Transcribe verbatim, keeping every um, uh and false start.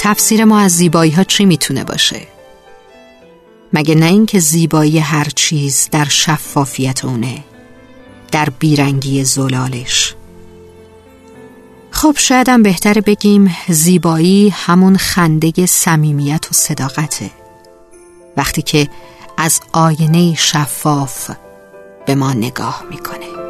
تفسیر ما از زیبایی ها چی میتونه باشه؟ مگه نه این که زیبایی هر چیز در شفافیت اونه، در بیرنگی زلالش. خب شاید هم بهتره بگیم زیبایی همون خنده صمیمیت و صداقته، وقتی که از آینه شفاف به ما نگاه میکنه.